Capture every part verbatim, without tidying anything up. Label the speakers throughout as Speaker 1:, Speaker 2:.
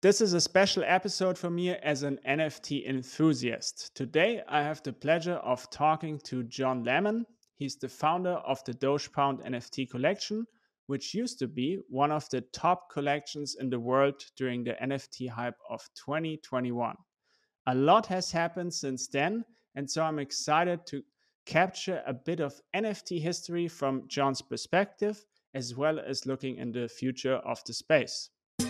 Speaker 1: This is a special episode for me as an N F T enthusiast. Today, I have the pleasure of talking to John Lemon. He's the founder of the Dogepound N F T collection, which used to be one of the top collections in the world during the N F T hype of twenty twenty-one. A lot has happened since then, and so I'm excited to capture a bit of N F T history from John's perspective, as well as looking in the future of the space.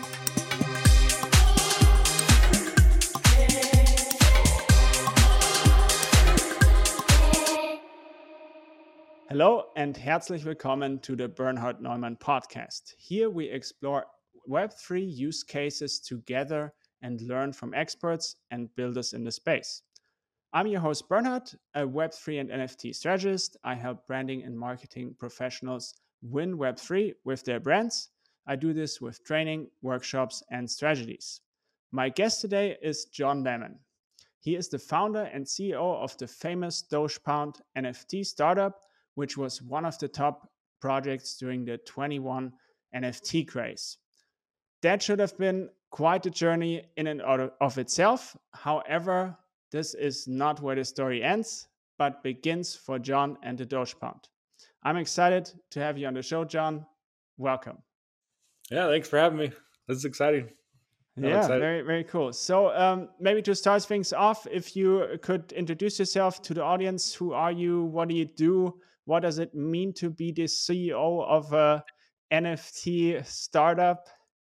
Speaker 1: Hallo and herzlich willkommen to the Bernhard Neumann podcast. Here we explore Web three use cases together and learn from experts and builders in the space. I'm your host Bernhard, a Web three and N F T strategist. I help branding and marketing professionals win Web three with their brands. I do this with training, workshops, and strategies. My guest today is John Lemon. He is the founder and C E O of the famous Dogepound N F T startup, which was one of the top projects during the twenty-one N F T craze. That should have been quite a journey in and out of itself. However, this is not where the story ends, but begins for John and the Dogepound. I'm excited to have you on the show, John. Welcome.
Speaker 2: Yeah, thanks for having me. This is exciting.
Speaker 1: I'm yeah, excited. very, very cool. So um, maybe to start things off, if you could introduce yourself to the audience. Who are you? What do you do? What does it mean to be the C E O of a N F T startup?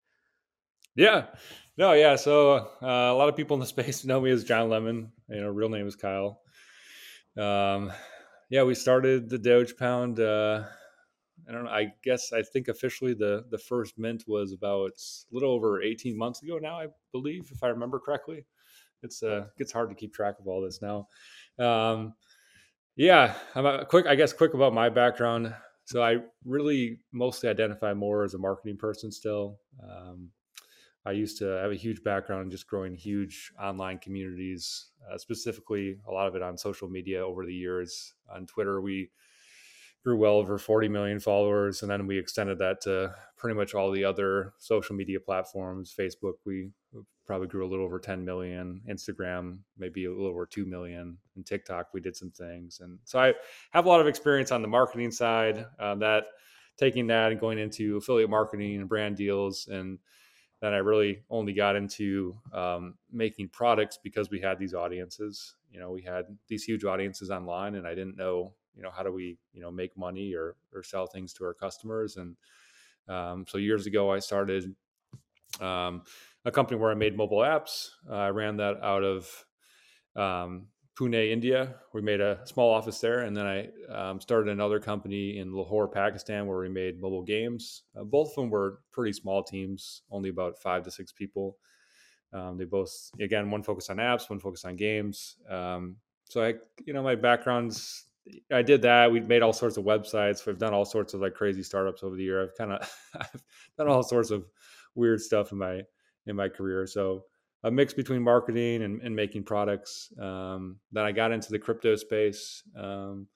Speaker 2: Yeah, no, yeah. So uh, a lot of people in the space know me as John Lemon. You know, real name is Kyle. Um, yeah, we started the Dogepound. Uh, I don't know. I guess I think officially the the first mint was about a little over eighteen months ago now, I believe, if I remember correctly. It's uh, it gets hard to keep track of all this now. Um, Yeah, I'm a quick. I guess quick about my background. So I really mostly identify more as a marketing person still. Um, I used to have a huge background in just growing huge online communities, uh, specifically a lot of it on social media over the years. On Twitter, we grew well over forty million followers, and then we extended that to pretty much all the other social media platforms. Facebook, we probably grew a little over ten million. Instagram, maybe a little over two million. And TikTok, we did some things. And so I have a lot of experience on the marketing side, uh, that taking that and going into affiliate marketing and brand deals. And then I really only got into um, making products because we had these audiences. You know, we had these huge audiences online, and I didn't know, you know, how do we, you know, make money or or sell things to our customers. And um, so years ago, I started um, a company where I made mobile apps. Uh, I ran that out of um, Pune, India. We made a small office there, and then I um, started another company in Lahore, Pakistan, where we made mobile games. Uh, both of them were pretty small teams, only about five to six people. Um, they both, again, one focused on apps, one focused on games. Um, so I, you know, my background's, I did that. We've made all sorts of websites. We've done all sorts of like crazy startups over the year. I've kind of I've done all sorts of weird stuff in my in my career. So a mix between marketing and, and making products. Um, then I got into the crypto space. Um,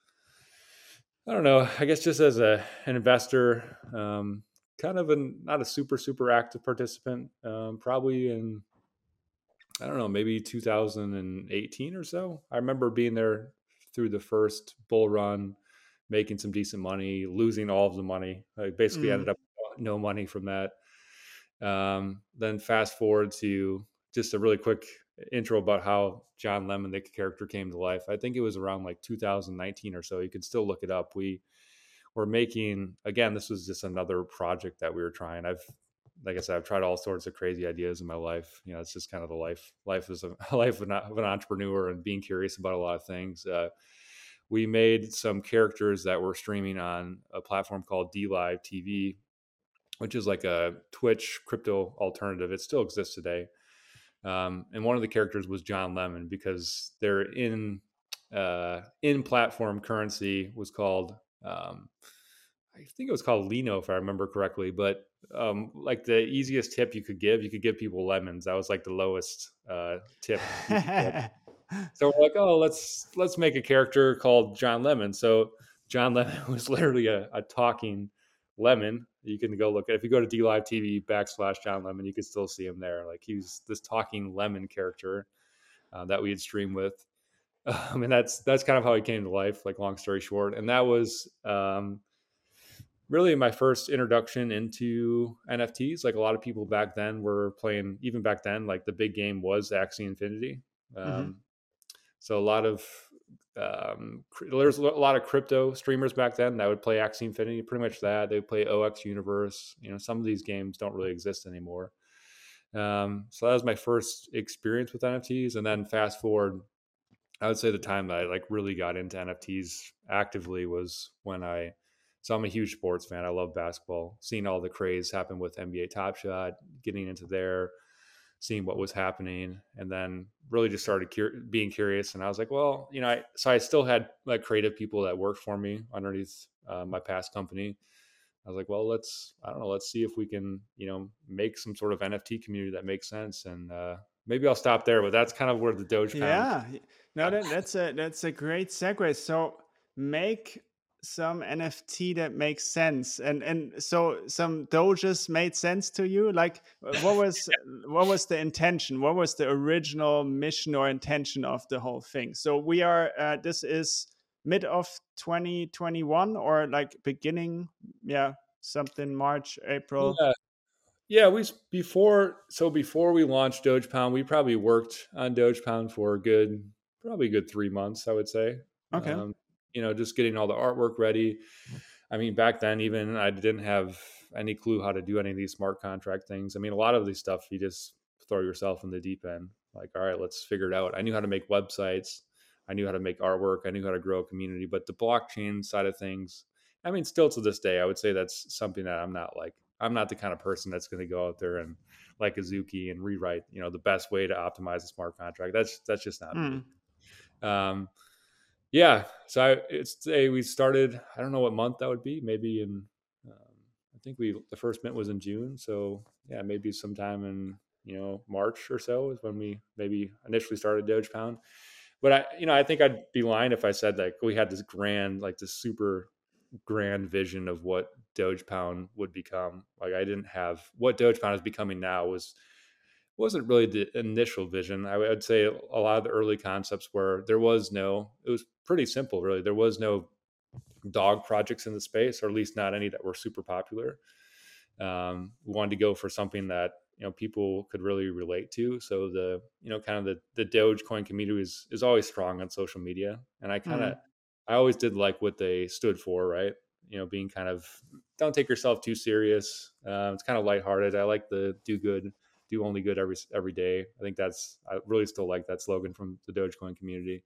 Speaker 2: I don't know. I guess just as a an investor, um, kind of an not a super super active participant. Um, probably in I don't know, maybe two thousand eighteen or so. I remember being there through the first bull run, making some decent money, losing all of the money. I basically mm. ended up no money from that. Um, then fast forward to just a really quick intro about how John Lemon, the character, came to life. I think it was around like two thousand nineteen or so. You can still look it up. We were making, again, this was just another project that we were trying. I've Like I said, I've tried all sorts of crazy ideas in my life. You know, it's just kind of the life, life is a life of an entrepreneur and being curious about a lot of things. Uh, we made some characters that were streaming on a platform called D Live T V, which is like a Twitch crypto alternative. It still exists today. Um, and one of the characters was John Lemon because their in uh, in platform currency was called. Um, I think it was called Lino, if I remember correctly, but um, like the easiest tip you could give, you could give people lemons. That was like the lowest uh, tip. So we're like, oh, let's let's make a character called John Lemon. So John Lemon was literally a, a talking Lemon. You can go look at, if you go to D Live T V backslash John Lemon, you can still see him there. Like he's this talking lemon character uh, that we had streamed with. I mean, that's that's kind of how he came to life. Like long story short, and that was um, really my first introduction into N F Ts. Like a lot of people back then were playing, even back then, like the big game was Axie Infinity.
Speaker 1: Mm-hmm.
Speaker 2: Um, so a lot of um, there's a lot of crypto streamers back then that would play Axie Infinity, pretty much that. They would play O X Universe. You know, some of these games don't really exist anymore. Um, so that was my first experience with N F Ts. And then fast forward, I would say the time that I like really got into N F Ts actively was when I, so I'm a huge sports fan. I love basketball, seeing all the craze happen with N B A Top Shot, getting into there, seeing what was happening, and then really just started cur- being curious. And I was like, well, you know, I, so I still had like creative people that worked for me underneath uh, my past company. I was like, well, let's, I don't know, let's see if we can, you know, make some sort of N F T community that makes sense. And uh, maybe I'll stop there, but that's kind of where the Doge Pound.
Speaker 1: Yeah, no, that, that's a that's a great segue. So make some N F T that makes sense, and and so some Doges made sense to you. Like, what was what was the intention? What was the original mission or intention of the whole thing? So we are. Uh, this is mid of twenty twenty-one or like beginning. Yeah, something March, April.
Speaker 2: Yeah. Yeah, we before so before we launched Doge Pound, we probably worked on Doge Pound for a good probably a good three months, I would say.
Speaker 1: Okay.
Speaker 2: Um, you know, just getting all the artwork ready. I mean, back then, even I didn't have any clue how to do any of these smart contract things. I mean, a lot of these stuff you just throw yourself in the deep end. Like, all right, let's figure it out. I knew how to make websites. I knew how to make artwork. I knew how to grow a community. But the blockchain side of things, I mean, still to this day, I would say that's something that I'm not like. I'm not the kind of person that's going to go out there and like Azuki and rewrite, you know, the best way to optimize a smart contract. That's that's just not me.
Speaker 1: Mm.
Speaker 2: Um, yeah, so I, it's a, we started. I don't know what month that would be. Maybe in, um, I think we the first mint was in June. So yeah, maybe sometime in you know March or so is when we maybe initially started Doge Pound. But I, you know, I think I'd be lying if I said like we had this grand, like this super grand vision of what Doge Pound would become. Like I didn't have what Doge Pound is becoming now was wasn't really the initial vision. I would say a lot of the early concepts where there was no, it was pretty simple, really. There was no dog projects in the space, or at least not any that were super popular. Um, we wanted to go for something that you know people could really relate to. So the you know kind of the the Dogecoin community is is always strong on social media, and I kind of
Speaker 1: Mm.
Speaker 2: I always did like what they stood for, right? You know, being kind of don't take yourself too serious. Uh, it's kind of lighthearted. I like the do good, do only good every every day. I think that's I really still like that slogan from the Dogecoin community.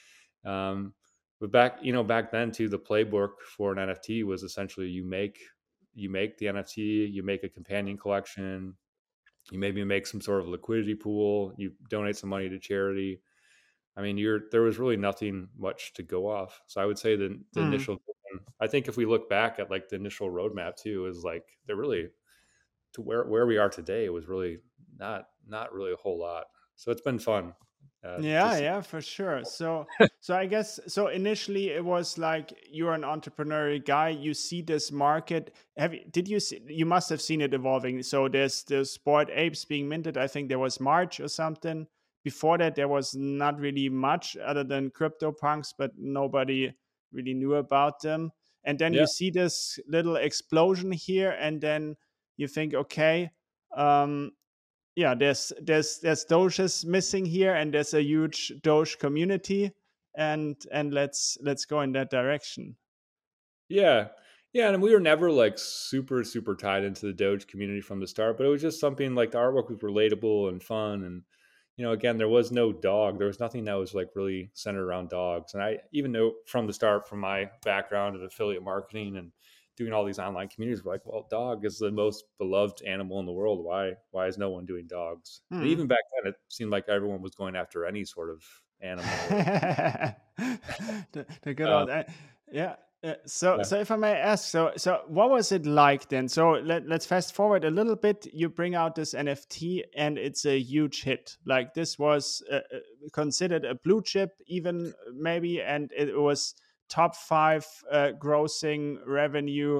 Speaker 2: Um, but back you know back then too, the playbook for an N F T was essentially you make you make the N F T, you make a companion collection, you maybe make some sort of liquidity pool, you donate some money to charity. I mean, you're there was really nothing much to go off. So I would say the the
Speaker 1: Mm.
Speaker 2: initial I think if we look back at like the initial roadmap too, is like they're really to where where we are today was really not not really a whole lot. So it's been fun uh, to
Speaker 1: Yeah,
Speaker 2: see.
Speaker 1: yeah, for sure. So, so I guess so. Initially, it was like you're an entrepreneurial guy. You see this market. Have you, did you see? You must have seen it evolving. So there's the Sport Apes being minted. I think there was March or something. Before that, there was not really much other than CryptoPunks, but nobody really knew about them. And then
Speaker 2: Yeah.
Speaker 1: you see this little explosion here, and then you think, okay. Um, yeah, there's there's there's Doges missing here, and there's a huge Doge community, and and let's let's go in that direction.
Speaker 2: Yeah. Yeah, and we were never like super super tied into the Doge community from the start, but it was just something like the artwork was relatable and fun. And you know, again, there was no dog. There was nothing that was like really centered around dogs. And I even know from the start, from my background of affiliate marketing and doing all these online communities, we're like, well, dog is the most beloved animal in the world. Why why is no one doing dogs? And
Speaker 1: Hmm.
Speaker 2: even back then, it seemed like everyone was going after any sort of animal or
Speaker 1: the, the good
Speaker 2: uh,
Speaker 1: old uh, yeah. Uh, so
Speaker 2: yeah.
Speaker 1: so if I may ask, so so what was it like then? So let, let's fast forward a little bit. You bring out this N F T and it's a huge hit. Like this was uh, uh, considered a blue chip even maybe, and it was top five uh, grossing revenue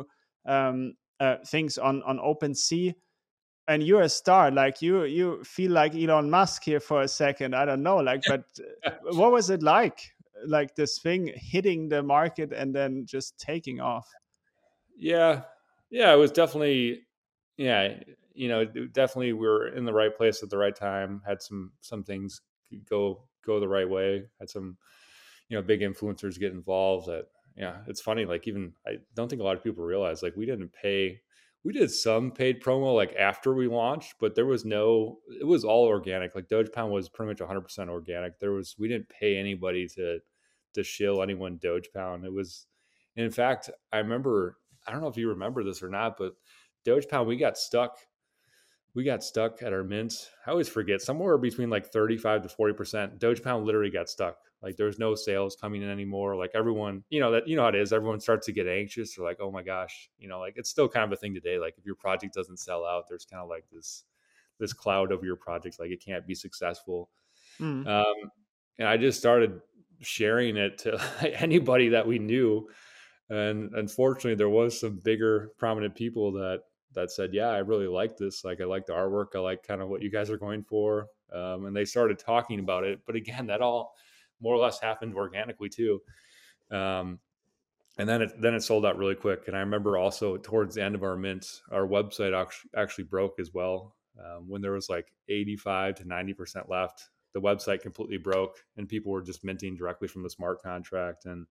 Speaker 1: um, uh, things on on OpenSea, and you're a star. Like you you feel like Elon Musk here for a second. I don't know. Like, but uh, what was it like? Like this thing hitting the market and then just taking off.
Speaker 2: Yeah, yeah, it was definitely, yeah, you know, definitely we were in the right place at the right time. Had some some things go go the right way. Had some, you know, big influencers get involved. That yeah, it's funny. Like even I don't think a lot of people realize like we didn't pay. We did some paid promo like after we launched, but there was no. It was all organic. Like Doge Pound was pretty much one hundred percent organic. There was we didn't pay anybody to to shill anyone Doge Pound. It was, in fact, I remember. I don't know if you remember this or not, but Doge Pound we got stuck we got stuck at our mint. I always forget somewhere between like thirty-five to forty percent. Doge Pound literally got stuck. Like there's no sales coming in anymore. Like everyone, you know, that, you know how it is. Everyone starts to get anxious. They're like, oh my gosh, you know, like it's still kind of a thing today. Like if your project doesn't sell out, there's kind of like this, this cloud over your project. Like it can't be successful.
Speaker 1: Mm.
Speaker 2: Um, and I just started sharing it to anybody that we knew. And unfortunately there was some bigger prominent people that that said, yeah, I really like this. Like, I like the artwork. I like kind of what you guys are going for. Um, and they started talking about it. But again, that all more or less happened organically too. Um, and then it, then it sold out really quick. And I remember also towards the end of our mint, our website actually, actually broke as well. Um, when there was like eighty-five to ninety percent left, the website completely broke and people were just minting directly from the smart contract. And,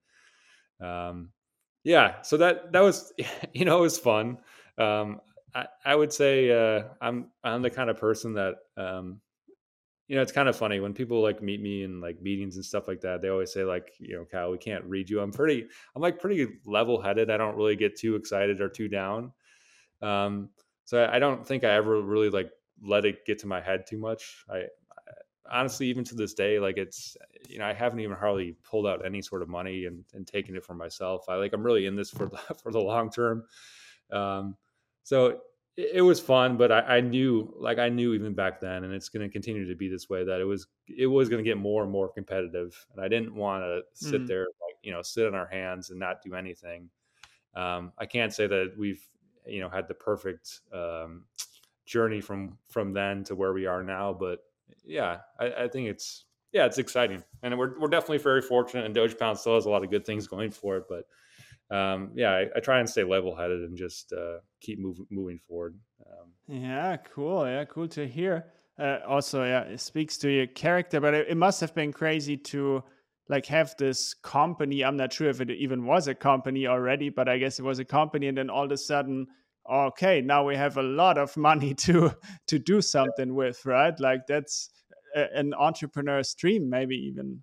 Speaker 2: um, yeah, so that, that was, you know, it was fun. Um, I, I would say uh, I'm I'm the kind of person that um, you know, it's kind of funny when people like meet me in like meetings and stuff like that. They always say like, you know, Kyle, we can't read you. I'm pretty I'm like pretty level headed. I don't really get too excited or too down. Um, so I, I don't think I ever really like let it get to my head too much. I, I honestly, even to this day, like it's, you know, I haven't even hardly pulled out any sort of money and, and taken it for myself. I like I'm really in this for the, for the long term. Um, so it, it was fun, but I, I knew, like I knew even back then, and it's going to continue to be this way, that it was it was going to get more and more competitive, and I didn't want to sit
Speaker 1: Mm.
Speaker 2: there, like you know, sit on our hands and not do anything. Um, I can't say that we've you know had the perfect um, journey from from then to where we are now, but yeah, I, I think it's yeah, it's exciting, and we're we're definitely very fortunate. And Doge Pound still has a lot of good things going for it, but um, yeah, I, I try and stay level headed and just uh, keep moving moving forward. Um,
Speaker 1: Yeah, cool. Yeah, cool to hear. Uh, also, yeah, it speaks to your character, but it, it must have been crazy to like have this company. I'm not sure if it even was a company already, but I guess it was a company, and then all of a sudden, okay, now we have a lot of money to to do something with, right? Like that's a, an entrepreneur's dream, maybe even.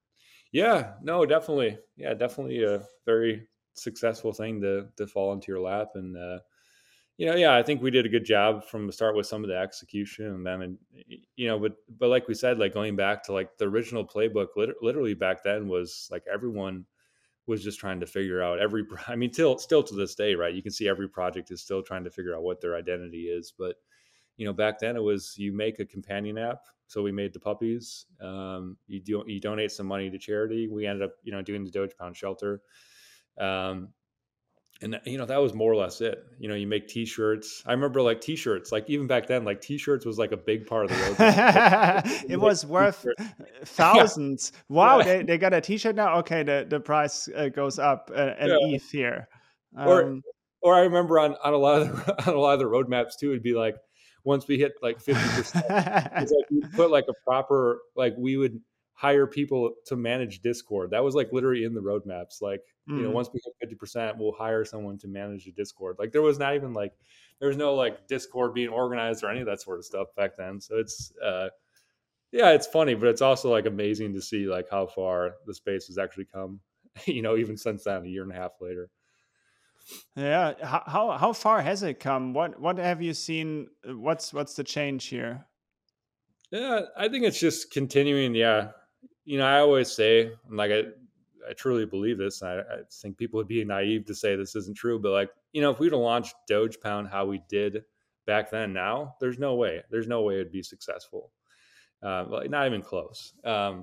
Speaker 2: yeah, no, definitely, yeah, definitely a very successful thing to to fall into your lap, and uh, you know, yeah, I think we did a good job from the start with some of the execution, and then, and you know, but but like we said, like going back to like the original playbook, lit- literally back then was like everyone was just trying to figure out every. I mean, till still to this day, right? You can see every project is still trying to figure out what their identity is, but you know, back then it was you make a companion app. So we made the puppies. Um, you do you donate some money to charity. We ended up, you know, doing the Doge Pound shelter. Um, and you know that was more or less it. You know, you make T-shirts. I remember like T-shirts, like even back then, like T-shirts was like a big part of the roadmap.
Speaker 1: It was worth
Speaker 2: yeah,
Speaker 1: thousands. Wow,
Speaker 2: yeah,
Speaker 1: they, they got a T-shirt now. Okay, the the price uh, goes up uh, an
Speaker 2: yeah.
Speaker 1: E T H here.
Speaker 2: Or
Speaker 1: Um,
Speaker 2: or I remember on on a lot of the, on a lot of the roadmaps too, it'd be like once we hit like fifty percent, it's like we put like a proper like we would hire people to manage Discord. That was like literally in the roadmaps. Like, you know,
Speaker 1: mm.
Speaker 2: once we hit fifty percent, we'll hire someone to manage the Discord. Like there was not even like there was no like Discord being organized or any of that sort of stuff back then. So it's uh yeah, it's funny, but it's also like amazing to see like how far the space has actually come, you know, even since then, a year and a half later.
Speaker 1: Yeah, how, how how far has it come? What what have you seen? What's what's the change here?
Speaker 2: Yeah, I think it's just continuing. Yeah, you know, I always say, like, I, I truly believe this. And I, I think people would be naive to say this isn't true, but like, you know, if we'd have launched Doge Pound how we did back then, now there's no way, there's no way it'd be successful. Uh, like, not even close. Um,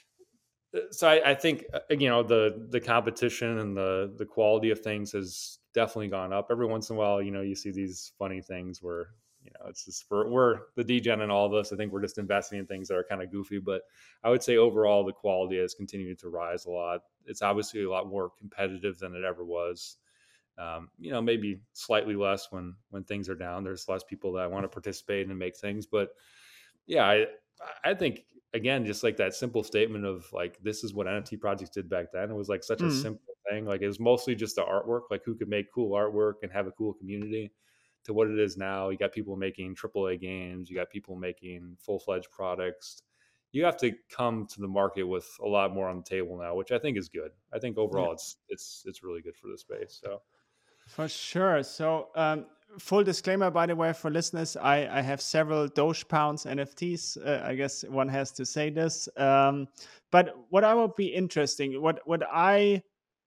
Speaker 2: so I, I think uh, you know the the competition and the the quality of things has definitely gone up. Every once in a while, you know, you see these funny things where, you know, it's just for, we're the degen and all of us. I think we're just investing in things that are kind of goofy, but I would say overall the quality has continued to rise a lot. It's obviously a lot more competitive than it ever was. Um, you know, maybe slightly less when when things are down. There's less people that want to participate and make things, but yeah, I I think again, just like that simple statement of like this is what N F T projects did back then. It was like such a
Speaker 1: Mm.
Speaker 2: simple thing. Like it was mostly just the artwork, like who could make cool artwork and have a cool community. To what it is now, you got people making triple A games, you got people making full fledged products. You have to come to the market with a lot more on the table now, which I think is good. I think
Speaker 1: Yeah.
Speaker 2: overall it's it's it's really good for the space. So
Speaker 1: For sure. So, um, full disclaimer, by the way, for listeners, I, I have several Doge Pounds N F Ts. Uh, I guess one has to say this. Um, but what I would be interesting, what what I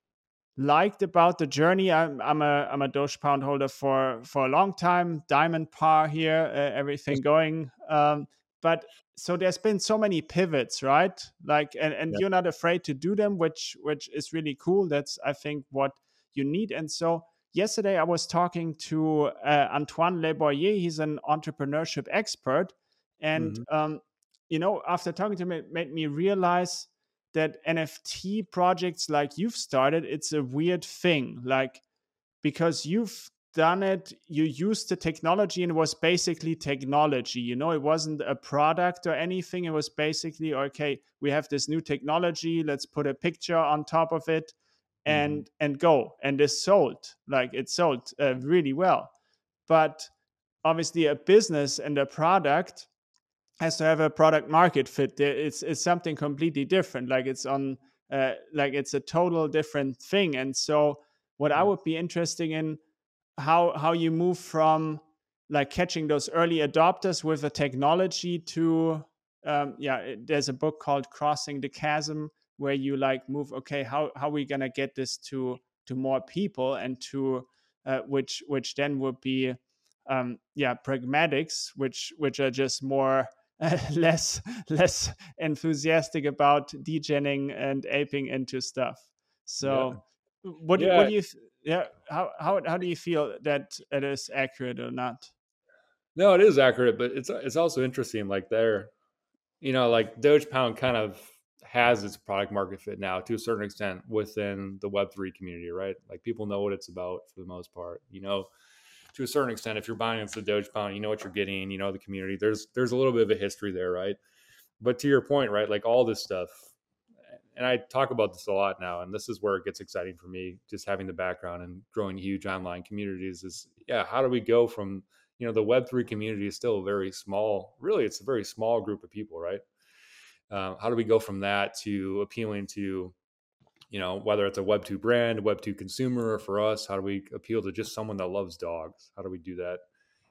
Speaker 1: liked about the journey, I'm I'm a I'm a Doge Pound holder for for a long time. Diamond par here, uh, everything going. Um, but so there's been so many pivots, right? Like, and and
Speaker 2: yeah.
Speaker 1: you're not afraid to do them, which which is really cool. That's I think what you need. And so yesterday I was talking to uh, Antoine Le Boyer. He's an entrepreneurship expert, and
Speaker 2: Mm-hmm.
Speaker 1: um, you know, after talking to him, it made me realize that N F T projects like you've started, it's a weird thing. Like, because you've done it, you used the technology and it was basically technology. You know, it wasn't a product or anything. It was basically, okay, we have this new technology, let's put a picture on top of it
Speaker 2: Mm-hmm.
Speaker 1: and and go. And it's sold. Like it sold uh, really well. But obviously a business and a product has to have a product market fit. It's it's something completely different. Like it's on uh, like it's a total different thing. And so what I
Speaker 2: Yeah.
Speaker 1: would be interested in how how you move from like catching those early adopters with a technology to um, yeah. It, there's a book called Crossing the Chasm where you like move. Okay, how how are we gonna get this to to more people and to uh, which which then would be um, yeah pragmatics, which which are just more uh, less less enthusiastic about degenning and aping into stuff.
Speaker 2: Yeah.
Speaker 1: So what do, what
Speaker 2: Yeah.
Speaker 1: do you yeah how, how how do you feel that it is accurate or not?
Speaker 2: No, it is accurate, but it's it's also interesting. Like there, you know, like Doge Pound kind of has its product market fit now to a certain extent within the Web three community, right? Like people know what it's about for the most part. You know, to a certain extent, if you're buying into the Doge Pound, you know what you're getting. You know the community. There's there's a little bit of a history there, right? But to your point, right? Like all this stuff, and I talk about this a lot now, and this is where it gets exciting for me, just having the background and growing huge online communities. Is yeah, how do we go from you know the Web three community is still very small. Really, it's a very small group of people, right? Um, how do we go from that to appealing to, you know, whether it's a Web two brand, a Web two consumer, or for us, how do we appeal to just someone that loves dogs? How do we do that?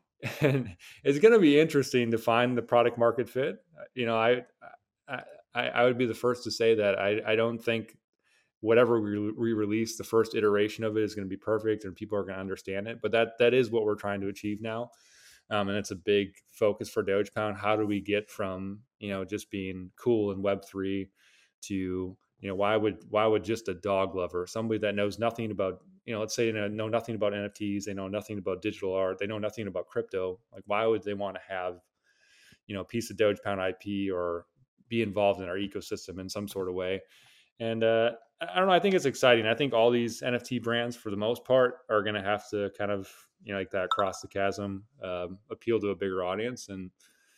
Speaker 2: And it's going to be interesting to find the product market fit. You know, I, I, I would be the first to say that I, I don't think whatever we re-release, the first iteration of it is going to be perfect and people are going to understand it. But that that is what we're trying to achieve now. Um, and it's a big focus for Doge Pound. How do we get from you know just being cool in Web three to you know why would why would just a dog lover, somebody that knows nothing about you know let's say they know nothing about N F Ts, they know nothing about digital art, they know nothing about crypto, like why would they want to have you know a piece of Doge Pound I P or be involved in our ecosystem in some sort of way? And uh, I don't know. I think it's exciting. I think all these N F T brands, for the most part, are going to have to kind of, you know, like that cross the chasm, um, appeal to a bigger audience. And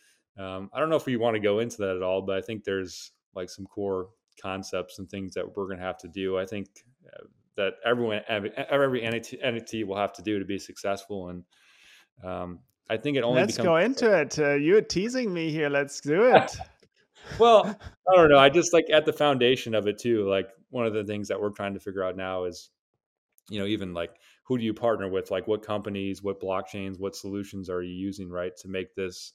Speaker 2: um, I don't know if we want to go into that at all, but I think there's like some core concepts and things that we're going to have to do. I think uh, that everyone, every, every N F T will have to do to be successful. And um, I think it only
Speaker 1: Let's
Speaker 2: becomes
Speaker 1: go into it. Uh, you're teasing me here. Let's do it.
Speaker 2: well, I don't know. I just like at the foundation of it too. Like one of the things that we're trying to figure out now is, you know, even like who do you partner with? Like what companies, what blockchains, what solutions are you using, right, to make this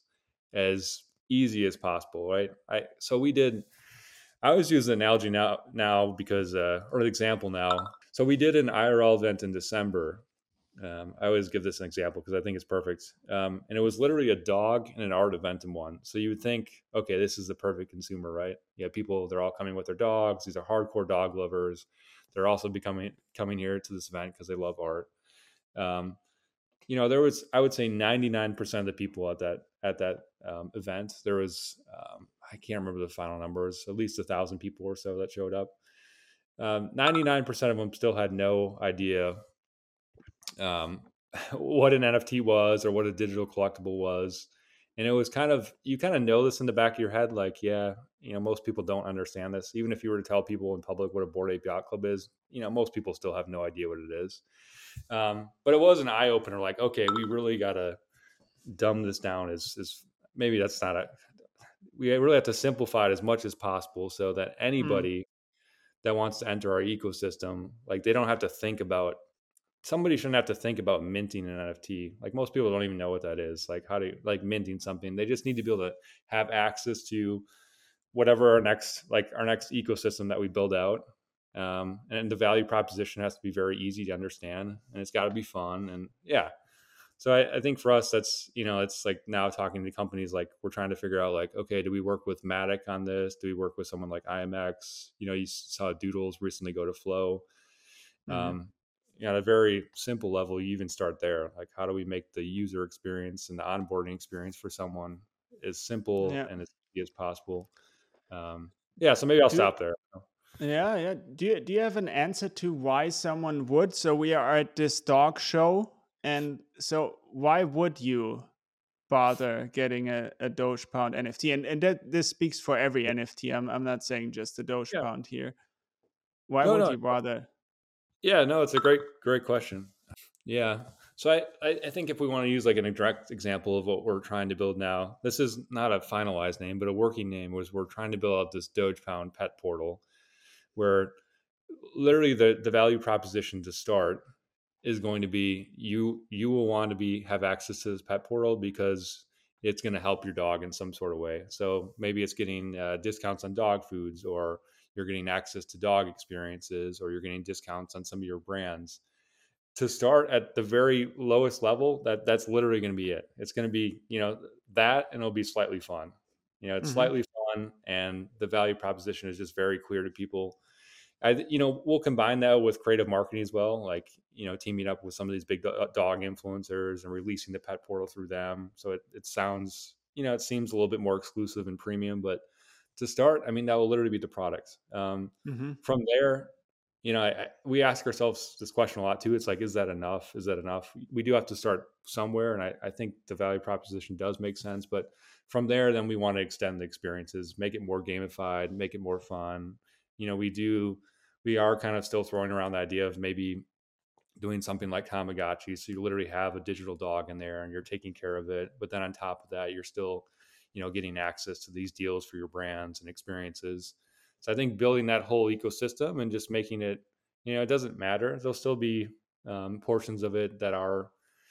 Speaker 2: as easy as possible, right? I so we did. I always use the analogy now now because uh, or an example now. So we did an I R L event in December. Um, I always give this an example because I think it's perfect. Um, and it was literally a dog and an art event in one. So you would think, okay, this is the perfect consumer, right? Yeah, people, they're all coming with their dogs. These are hardcore dog lovers. They're also becoming coming here to this event because they love art. Um, you know, there was, I would say ninety-nine percent of the people at that, at that um, event, there was, um, I can't remember the final numbers, at least a thousand people or so that showed up. Um, ninety-nine percent of them still had no idea um, what an N F T was or what a digital collectible was. And it was kind of, you kind of know this in the back of your head, like, yeah, you know, most people don't understand this. Even if you were to tell people in public what a Bored Ape Yacht Club is, you know, most people still have no idea what it is. Um, but it was an eye opener, like, okay, we really got to dumb this down. Is, is maybe that's not a, we really have to simplify it as much as possible so that
Speaker 1: Mm.
Speaker 2: anybody that wants to enter our ecosystem, like they don't have to think about, somebody shouldn't have to think about minting an N F T. Like most people don't even know what that is. Like how to, like minting something. They just need to be able to have access to whatever our next, like our next ecosystem that we build out. Um, and the value proposition has to be very easy to understand, and it's got to be fun. And yeah, so I, I think for us, that's, you know, it's like now talking to companies, like we're trying to figure out like, okay, do we work with Matic on this? Do we work with someone like I M X? You know, you saw Doodles recently go to Flow.
Speaker 1: Hmm.
Speaker 2: Um, you know, at a very simple level, you even start there. Like, how do we make the user experience and the onboarding experience for someone as simple
Speaker 1: Yeah.
Speaker 2: and as easy as possible? Um, yeah, so maybe I'll
Speaker 1: Do
Speaker 2: stop there.
Speaker 1: yeah, yeah. Do you do you have an answer to why someone would? So we are at this dog show, and so why would you bother getting a, a Doge Pound N F T? And and that this speaks for every N F T. I'm I'm not saying just the Doge
Speaker 2: Yeah,
Speaker 1: Pound here. Why
Speaker 2: no,
Speaker 1: would
Speaker 2: no,
Speaker 1: you bother?
Speaker 2: yeah, no, it's a great, great question. Yeah. So I, I, I think if we want to use like an direct example of what we're trying to build now, this is not a finalized name, but a working name was we're trying to build out this Doge Pound pet portal where literally the, the value proposition to start is going to be you you will want to be have access to this pet portal because it's going to help your dog in some sort of way. So maybe it's getting uh, discounts on dog foods, or you're getting access to dog experiences, or you're getting discounts on some of your brands. To start at the very lowest level, that that's literally going to be it. It's going to be, you know, that, and it'll be slightly fun. You know, it's
Speaker 1: Hmm.
Speaker 2: slightly fun, and the value proposition is just very clear to people. I, you know, we'll combine that with creative marketing as well, like, you know, teaming up with some of these big dog influencers and releasing the pet portal through them. So it, it sounds, you know, it seems a little bit more exclusive and premium, but to start, I mean, that will literally be the product. Um,
Speaker 1: Hmm.
Speaker 2: from there, you know, I, I, we ask ourselves this question a lot too. It's like, is that enough? Is that enough? We do have to start somewhere. And I, I think the value proposition does make sense. But from there, then we want to extend the experiences, make it more gamified, make it more fun. You know, we do, we are kind of still throwing around the idea of maybe doing something like Tamagotchi. So you literally have a digital dog in there and you're taking care of it. But then on top of that, you're still, you know, getting access to these deals for your brands and experiences. So I think building that whole ecosystem and just making it, you know, it doesn't matter. There'll still be um, portions of it that are,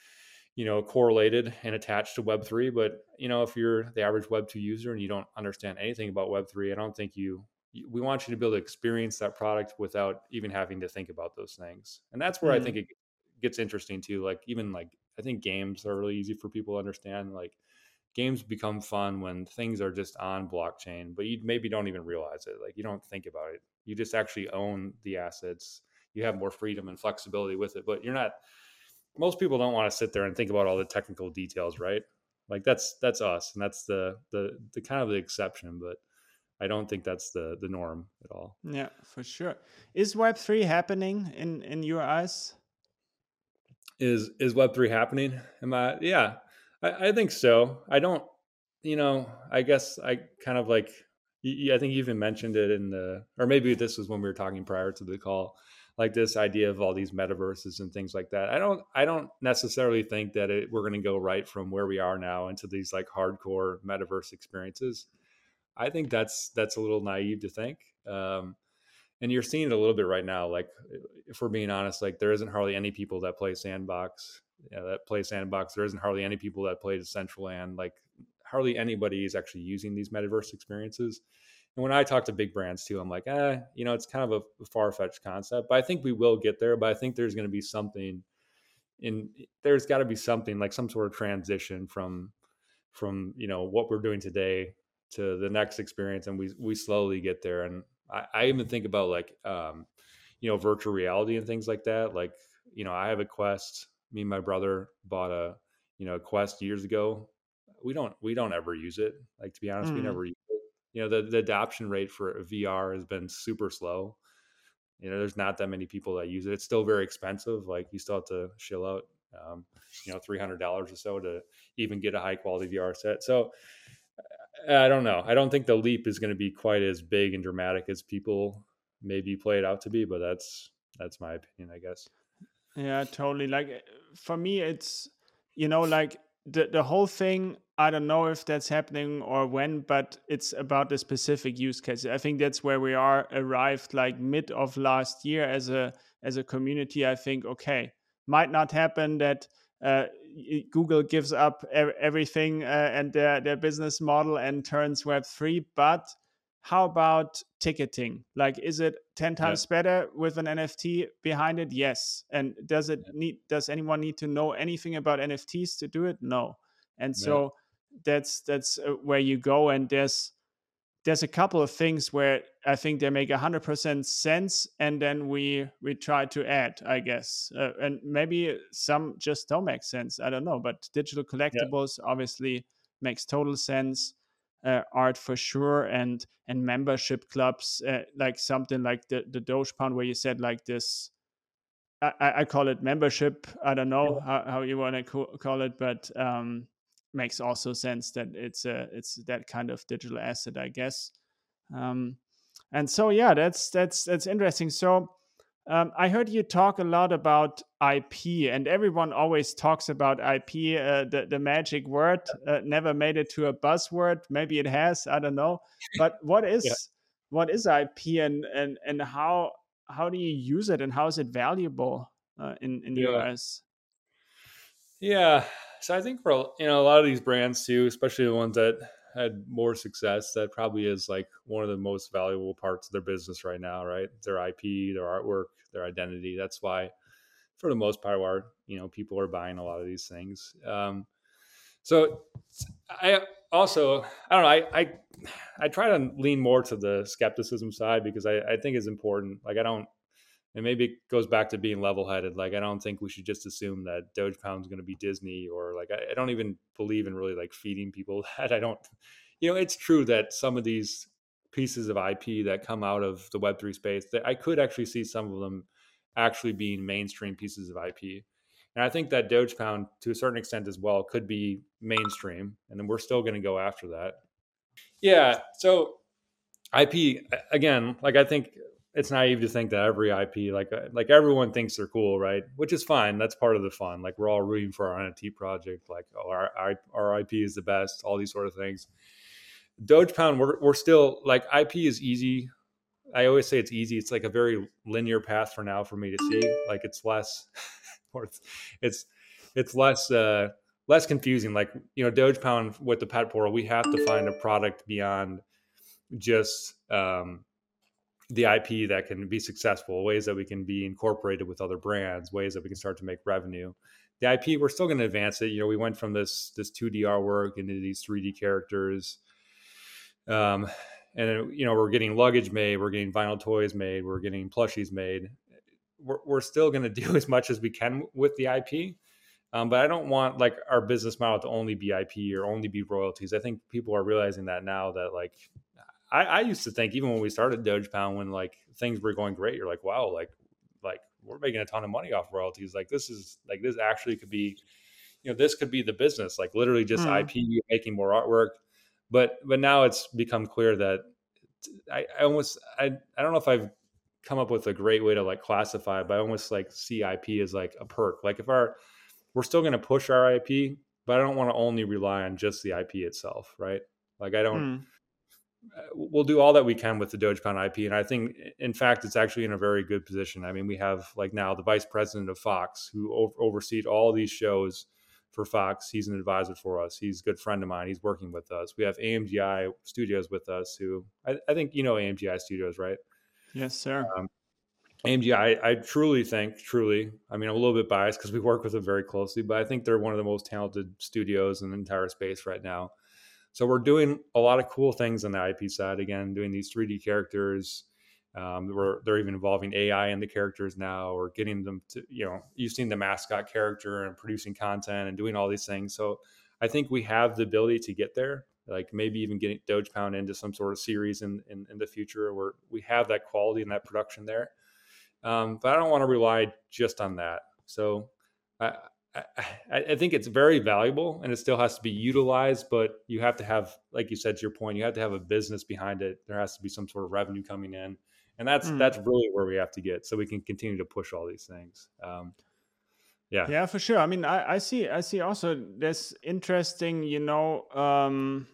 Speaker 2: you know, correlated and attached to Web three. But, you know, if you're the average Web two user and you don't understand anything about Web three, I don't think you, we want you to be able to experience that product without even having to think about those things. And that's where I think
Speaker 1: Mm.
Speaker 2: it gets interesting too. Like, even like, I think games are really easy for people to understand. Like, games become fun when things are just on blockchain, but you maybe don't even realize it. Like, you don't think about it. You just actually own the assets. You have more freedom and flexibility with it, but you're not, most people don't want to sit there and think about all the technical details, right? Like that's that's us, and that's the the the kind of the exception, but I don't think that's the the norm at all.
Speaker 1: Yeah, for sure. Is Web three happening in in your eyes?
Speaker 2: Is is Web three happening? Am I? Yeah, I, I think so. I don't. You know, I guess I kind of like. I think you even mentioned it in the, or maybe this was when we were talking prior to the call, like this idea of all these metaverses and things like that. I don't. I don't necessarily think that it, we're going to go right from where we are now into these like hardcore metaverse experiences. I think that's that's a little naive to think. Um, and you're seeing it a little bit right now. Like, if we're being honest, like there isn't hardly any people that play Sandbox, you know, that play Sandbox. There isn't hardly any people that play Decentraland. Like, hardly anybody is actually using these metaverse experiences. And when I talk to big brands too, I'm like, eh, you know, it's kind of a far fetched concept, but I think we will get there. But I think there's going to be something in, there's got to be something like some sort of transition from, from, you know, what we're doing today to the next experience. And we, we slowly get there. And I, I even think about like, um, you know, virtual reality and things like that. Like, you know, I have a Quest, me and my brother bought a, you know, Quest years ago. We don't, we don't ever use it. Like, to be honest, we
Speaker 1: Mm.
Speaker 2: never use it. You know, the, the adoption rate for V R has been super slow. You know, there's not that many people that use it. It's still very expensive. Like, you still have to shill out, um, you know, three hundred dollars or so to even get a high quality V R set. So I don't know. I don't think the leap is going to be quite as big and dramatic as people maybe play it out to be, but that's, that's my opinion, I guess.
Speaker 1: Yeah, totally. Like uh, for me, it's, you know, like the the whole thing. I don't know if that's happening or when, but it's about the specific use case. I think that's where we are arrived, like mid of last year as a as a community. I think okay, might not happen that uh, y- Google gives up e- everything uh, and their their business model and turns Web three, but how about ticketing? Like, is it ten
Speaker 2: Yeah.
Speaker 1: times better with an N F T behind it? Yes. And does it need, does anyone need to know anything about N F Ts to do it? No. And
Speaker 2: Yeah.
Speaker 1: so that's, that's uh, where you go. And there's, there's a couple of things where I think they make a hundred percent sense. And then we, we try to add, I guess, uh, and maybe some just don't make sense. I don't know, but digital
Speaker 2: Yeah.
Speaker 1: collectibles obviously makes total sense. Uh, art for sure, and and membership clubs, uh, like something like the the Doge Pound, where you said like this. I, I I call it membership. I don't know how, how you want to co- call it, but um, makes also sense that it's a it's that kind of digital asset, I guess. Um, and so yeah, that's that's that's interesting. So um, I heard you talk a lot about I P, and everyone always talks about I P, uh, the the magic word. Uh, never made it to a buzzword. Maybe it has. I don't know. But what
Speaker 2: Yeah.
Speaker 1: is what is I P, and and and how how do you use it, and how is it valuable uh, in in your
Speaker 2: Yeah.
Speaker 1: eyes?
Speaker 2: Yeah. So I think for, you know, a lot of these brands too, especially the ones that had more success, that probably is like one of the most valuable parts of their business right now, right? Their I P, their artwork, their identity. That's why, for the most part, why, you know, people are buying a lot of these things. Um, so I also, I don't know, I, I, I try to lean more to the skepticism side because I, I think it's important. Like, I don't, and maybe it goes back to being level-headed. Like, I don't think we should just assume that Doge Pound's going to be Disney, or like, I, I don't even believe in really like feeding people that. I don't, you know, it's true that some of these pieces of I P that come out of the Web three space, that I could actually see some of them actually being mainstream pieces of I P. And I think that Doge Pound, to a certain extent as well, could be mainstream, and then we're still going to go after that. Yeah. So I P, again, like, I think it's naive to think that every I P, like uh, like everyone thinks they're cool, right? Which is fine. That's part of the fun. Like, we're all rooting for our N F T project. Like, oh, our our, our I P is the best. All these sort of things. Doge Pound, we're we're still like, I P is easy. I always say it's easy. It's like a very linear path for now for me to see. Like, it's less, or it's it's it's less uh, less confusing. Like, you know, Doge Pound with the pet portal, we have to find a product beyond just um, the I P that can be successful, ways that we can be incorporated with other brands, ways that we can start to make revenue. The I P, we're still going to advance it. You know, we went from this this two D artwork into these three D characters. Um, and, you know, we're getting luggage made, we're getting vinyl toys made, we're getting plushies made. We're, we're still going to do as much as we can with the I P. Um, but I don't want like our business model to only be I P or only be royalties. I think people are realizing that now, that like, I, I used to think, even when we started Doge Pound, when like things were going great, you're like, wow, like, like we're making a ton of money off royalties. Like, this is like, this actually could be, you know, this could be the business, like literally just
Speaker 1: Hmm.
Speaker 2: I P, making more artwork. But, but now it's become clear that I, I almost, I, I don't know if I've come up with a great way to like classify it, but I almost like see I P as like a perk. Like, if our, we're still going to push our I P, but I don't want to only rely on just the I P itself, right? Like, I don't,
Speaker 1: Hmm.
Speaker 2: we'll do all that we can with the Doge Pound I P. And I think, in fact, it's actually in a very good position. I mean, we have like now the vice president of Fox, who over- oversees all these shows for Fox. He's an advisor for us. He's a good friend of mine. He's working with us. We have A M G I Studios with us, who I, I think, you know, A M G I Studios, right?
Speaker 1: Yes, sir.
Speaker 2: Um, A M G I, I truly think, truly, I mean, I'm a little bit biased because we work with them very closely, but I think they're one of the most talented studios in the entire space right now. So we're doing a lot of cool things on the I P side. Again, doing these three D characters, Um, we're, they're even involving A I in the characters now, or getting them to, you know, you've seen the mascot character and producing content and doing all these things. So I think we have the ability to get there, like maybe even getting Dogepound into some sort of series in, in, in the future where we have that quality and that production there. Um, but I don't want to rely just on that. So I, I, I think it's very valuable and it still has to be utilized, but you have to have, like you said, to your point, you have to have a business behind it. There has to be some sort of revenue coming in. And that's
Speaker 1: Mm.
Speaker 2: that's really where we have to get so we can continue to push all these things. Um, yeah.
Speaker 1: Yeah, for sure. I mean, I, I see I see also this interesting, you know, um,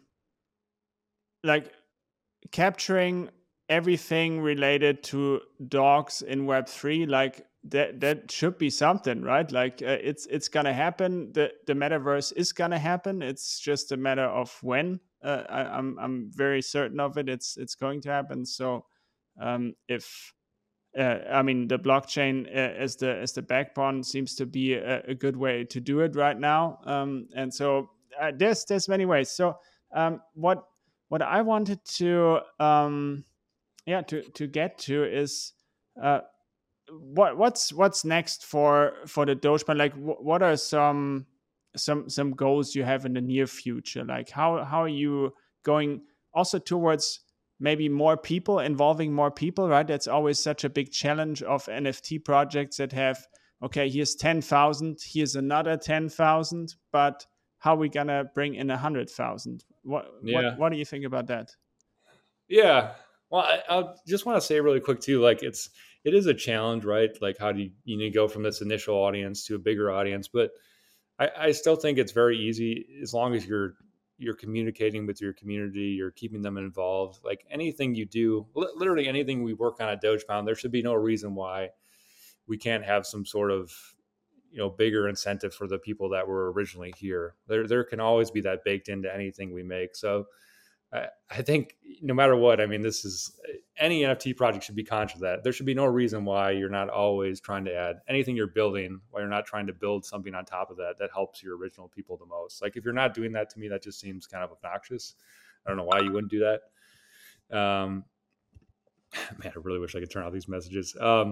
Speaker 1: like capturing everything related to dogs in Web three, like that that should be something, right? Like uh, it's it's gonna happen. The the metaverse is gonna happen. It's just a matter of when. Uh, I, I'm I'm very certain of it. It's it's going to happen. So um, if uh, I mean the blockchain uh, as the as the backbone seems to be a, a good way to do it right now. Um, and so uh, there's there's many ways. So um, what what I wanted to um, yeah to to get to is uh, what what's what's next for for the Dogecoin? Like wh- what are some some some goals you have in the near future? Like how how are you going also towards maybe more people, involving more people, right? That's always such a big challenge of N F T projects that have, okay, here's ten thousand, here's another ten thousand, but how are we gonna bring in one hundred thousand? What what
Speaker 2: Yeah.
Speaker 1: what do you think about that?
Speaker 2: Yeah. Well, I, I just want to say really quick too, like it's, it is a challenge, right? Like how do you, you need to go from this initial audience to a bigger audience, but I, I still think it's very easy as long as you're, you're communicating with your community, you're keeping them involved. Like anything you do, li- literally anything we work on at Dogepound, there should be no reason why we can't have some sort of, you know, bigger incentive for the people that were originally here. There, there can always be that baked into anything we make. So I, I think no matter what, I mean, this is any N F T project should be conscious of that. There should be no reason why you're not always trying to add anything you're building, why you're not trying to build something on top of that that helps your original people the most. Like if you're not doing that, to me, that just seems kind of obnoxious. I don't know why you wouldn't do that. Um, man, I really wish I could turn off these messages. Um,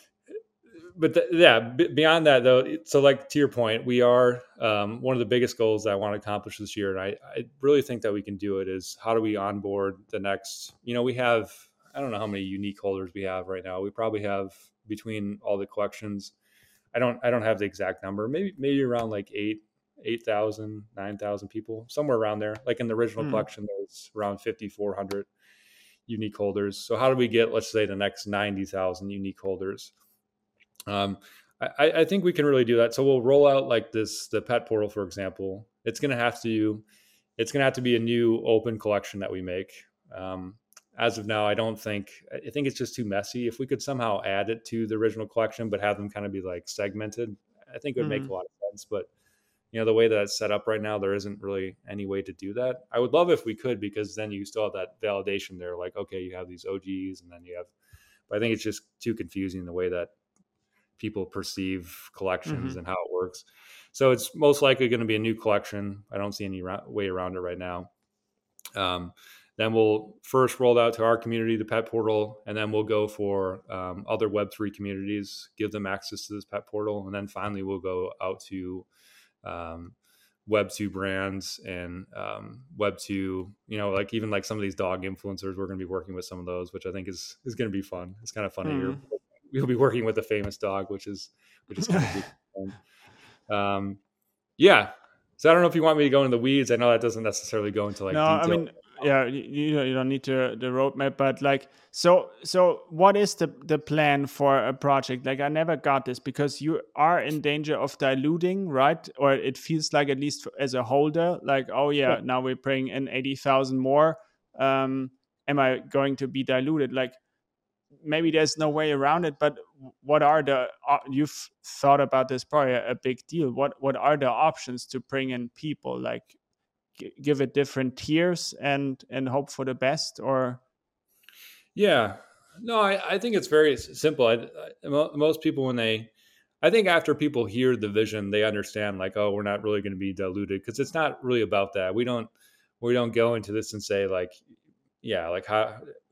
Speaker 2: but th- yeah, b- beyond that though, so like to your point, we are um, one of the biggest goals that I want to accomplish this year, and I, I really think that we can do it. Is how do we onboard the next? You know, we have I don't know how many unique holders we have right now. We probably have between all the collections. I don't I don't have the exact number. Maybe maybe around like eight eight thousand nine thousand people, somewhere around there. Like in the original
Speaker 1: Hmm.
Speaker 2: collection, there's around fifty four hundred unique holders. So how do we get, let's say, the next ninety thousand unique holders? Um, I, I think we can really do that. So we'll roll out like this, the pet portal, for example. It's going to have to, it's going to have to be a new open collection that we make. Um, as of now, I don't think, I think it's just too messy. If we could somehow add it to the original collection, but have them kind of be like segmented, I think it would make
Speaker 1: Mm-hmm.
Speaker 2: a lot of sense. But you know, the way that it's set up right now, there isn't really any way to do that. I would love if we could, because then you still have that validation there. Like, okay, you have these O Gs and then you have, but I think it's just too confusing the way that people perceive
Speaker 1: Mm-hmm.
Speaker 2: collections and how it works. So it's most likely going to be a new collection. I don't see any ra- way around it right now. Um, then we'll first roll out to our community, the pet portal, and then we'll go for um, other Web three communities, give them access to this pet portal. And then finally, we'll go out to um, Web two brands and um, Web two, you know, like even like some of these dog influencers, we're going to be working with some of those, which I think is, is going to be fun. It's kind of funny. You're,
Speaker 1: Mm-hmm.
Speaker 2: we'll be working with a famous dog, which is, which is kind of fun. Um, yeah. So I don't know if you want me to go into the weeds. I know that doesn't necessarily go into like
Speaker 1: No, I
Speaker 2: detail.
Speaker 1: mean, yeah, you, you don't you don't need to the roadmap, but like, so so what is the the plan for a project? Like, I never got this because you are in danger of diluting, right? Or it feels like, at least as a holder, like, oh yeah, now we're bringing in eighty thousand more. Um, am I going to be diluted? Like, maybe there's no way around it, but what are the uh, you've thought about this, probably a, a big deal. What what are the options to bring in people? Like, give it different tiers and and hope for the best, or
Speaker 2: Yeah. No, I, I think it's very s- simple. I, I, mo- most people, when they, I think after people hear the vision, they understand like, oh, we're not really going to be diluted, because it's not really about that. We don't, we don't go into this and say like, yeah, like how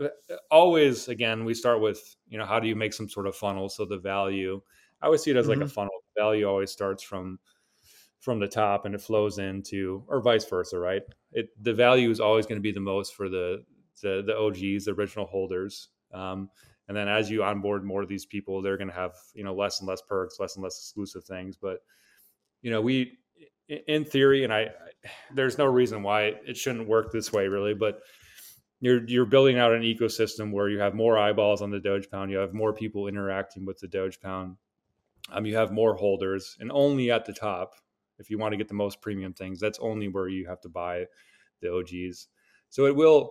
Speaker 2: always again we start with, you know, how do you make some sort of funnel? So the value, I always see it as like a
Speaker 1: Mm-hmm.
Speaker 2: funnel. The value always starts from from the top and it flows into, or vice versa, right? It the value is always going to be the most for the the the O Gs, the original holders. Um, and then as you onboard more of these people, they're going to have, you know, less and less perks, less and less exclusive things. But you know, we in theory, and I, I there's no reason why it shouldn't work this way, really. But you're you're building out an ecosystem where you have more eyeballs on the Doge Pound, you have more people interacting with the Doge Pound, um, you have more holders, and only at the top, if you want to get the most premium things, that's only where you have to buy the O Gs. So it will.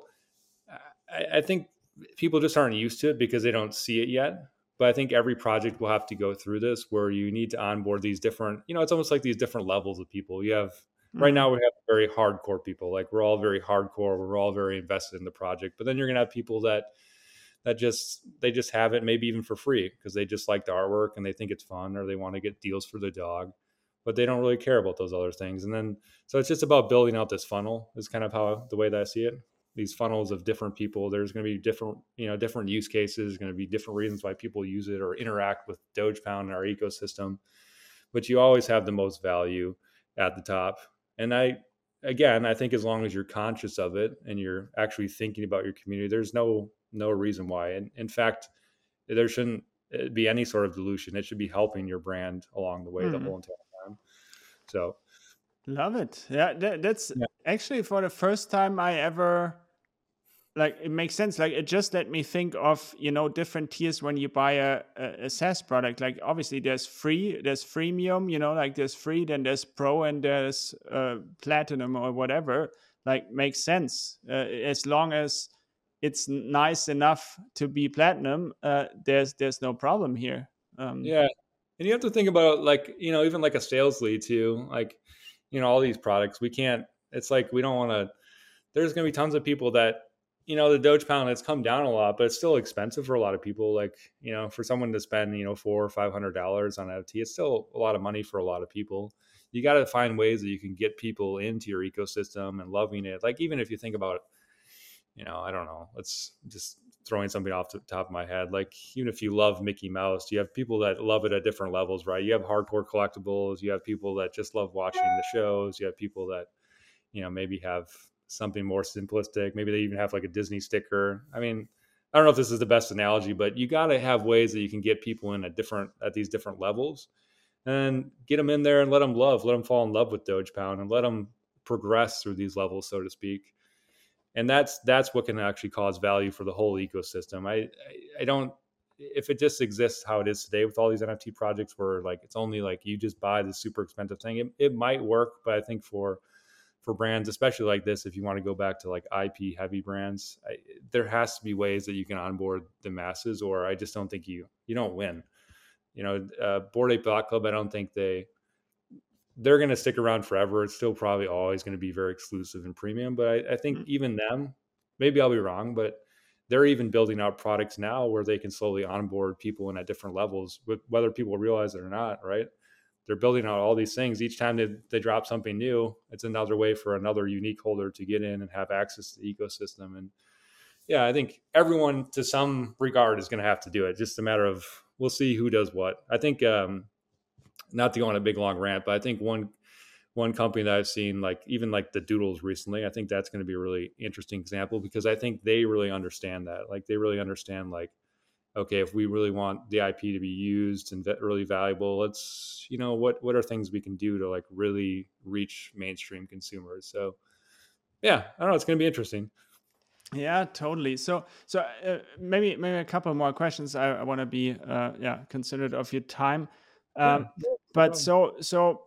Speaker 2: I, I think people just aren't used to it because they don't see it yet. But I think every project will have to go through this where you need to onboard these different, you know, it's almost like these different levels of people. You have right
Speaker 1: Mm-hmm.
Speaker 2: now we have very hardcore people. Like we're all very hardcore. We're all very invested in the project. But then you're gonna have people that that just they just have it maybe even for free because they just like the artwork and they think it's fun or they want to get deals for the dog, but they don't really care about those other things. And then so it's just about building out this funnel is kind of how the way that I see it. These funnels of different people, there's going to be different, you know, different use cases, going to be different reasons why people use it or interact with Doge Pound in our ecosystem, but you always have the most value at the top. And I again, I think as long as you're conscious of it and you're actually thinking about your community, there's no no reason why. And in fact, there shouldn't uh, be any sort of dilution. It should be helping your brand along the way the
Speaker 1: Mm-hmm.
Speaker 2: whole entire time. So
Speaker 1: Love it. Yeah, that, that's
Speaker 2: yeah,
Speaker 1: actually for the first time I ever like it makes sense. Like it just let me think of, you know, different tiers when you buy a, a, a SaaS product. Like obviously there's free, there's freemium, you know, like there's free, then there's pro, and there's uh, platinum or whatever. Like makes sense. Uh, as long as it's nice enough to be platinum, uh, there's there's no problem here. Um,
Speaker 2: yeah. And you have to think about like, you know, even like a sales lead too, like, you know, all these products, we can't, it's like, we don't want to, there's going to be tons of people that, you know, the Doge pound has come down a lot, but it's still expensive for a lot of people. Like, you know, for someone to spend, you know, four or five hundred dollars on N F T, it's still a lot of money for a lot of people. You got to find ways that you can get people into your ecosystem and loving it. Like, even if you think about, you know, I don't know, let's just throwing something off the top of my head. Like, even if you love Mickey Mouse, you have people that love it at different levels, right? You have hardcore collectibles, you have people that just love watching the shows, you have people that, you know, maybe have something more simplistic. Maybe they even have like a Disney sticker. I mean, I don't know if this is the best analogy, but you got to have ways that you can get people in at different at these different levels, and get them in there and let them love, let them fall in love with Doge Pound, and let them progress through these levels, so to speak. And that's that's what can actually cause value for the whole ecosystem. I I, I don't if it just exists how it is today with all these N F T projects where like it's only like you just buy the super expensive thing, it, it might work, but I think for for brands, especially like this, if you want to go back to like I P heavy brands, I, there has to be ways that you can onboard the masses, or I just don't think you you don't win. You know, uh, Bored Ape Yacht Club, I don't think they they're going to stick around forever. It's still probably always going to be very exclusive and premium, but I, I think
Speaker 1: mm,
Speaker 2: even them, maybe I'll be wrong, but they're even building out products now where they can slowly onboard people in at different levels, with whether people realize it or not, right? They're building out all these things. Each time they, they drop something new, it's another way for another unique holder to get in and have access to the ecosystem. And yeah, I think everyone to some regard is going to have to do it. Just a matter of we'll see who does what. I think um, not to go on a big long rant, but I think one one company that I've seen, like even like the Doodles recently, I think that's going to be a really interesting example because I think they really understand that. Like they really understand like, okay, if we really want the I P to be used and really valuable, let's, you know, what what are things we can do to like really reach mainstream consumers? So yeah, I don't know, it's going to be interesting.
Speaker 1: yeah, totally. So, so uh, maybe maybe a couple more questions. I, I want to be uh, yeah considerate of your time.
Speaker 2: Yeah,
Speaker 1: Um,
Speaker 2: no
Speaker 1: but
Speaker 2: problem.
Speaker 1: so so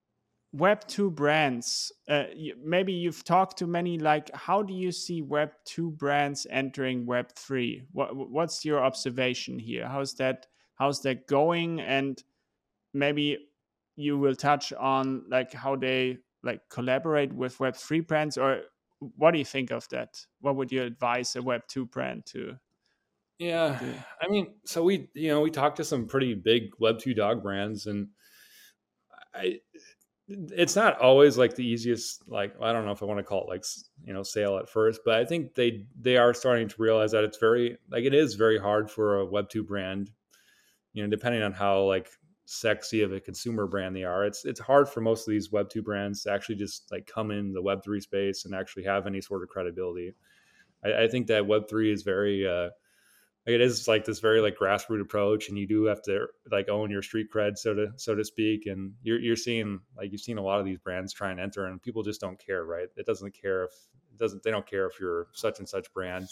Speaker 1: Web two brands. Uh, you, maybe you've talked to many. Like, how do you see Web two brands entering Web three? What what's your observation here? How's that how's that going? And maybe you will touch on like how they like collaborate with Web three brands, or what do you think of that? What would you advise a Web two brand to
Speaker 2: Yeah,
Speaker 1: do?
Speaker 2: I mean, so we, you know, we talked to some pretty big Web two dog brands, and I it's not always like the easiest, like, I don't know if I want to call it like, you know, sale at first, but I think they, they are starting to realize that it's very, like, it is very hard for a Web two brand, you know, depending on how like sexy of a consumer brand they are. It's, it's hard for most of these Web two brands to actually just like come in the Web three space and actually have any sort of credibility. I, I think that Web three is very, uh, like, it is like this very like grassroots approach, and you do have to like own your street cred, so to so to speak. And you're you're seeing, like, you've seen a lot of these brands try and enter, and people just don't care, right? It doesn't care if it doesn't they don't care if you're such and such brand.